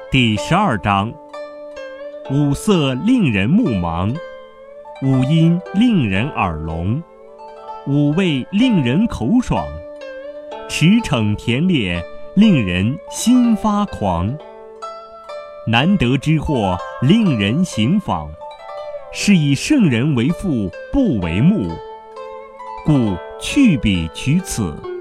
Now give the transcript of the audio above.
第12章：五色令人目盲，五音令人耳聋，五味令人口爽，驰骋田猎令人心发狂。难得之货令人行访，是以圣人为父不为目，故去彼取此。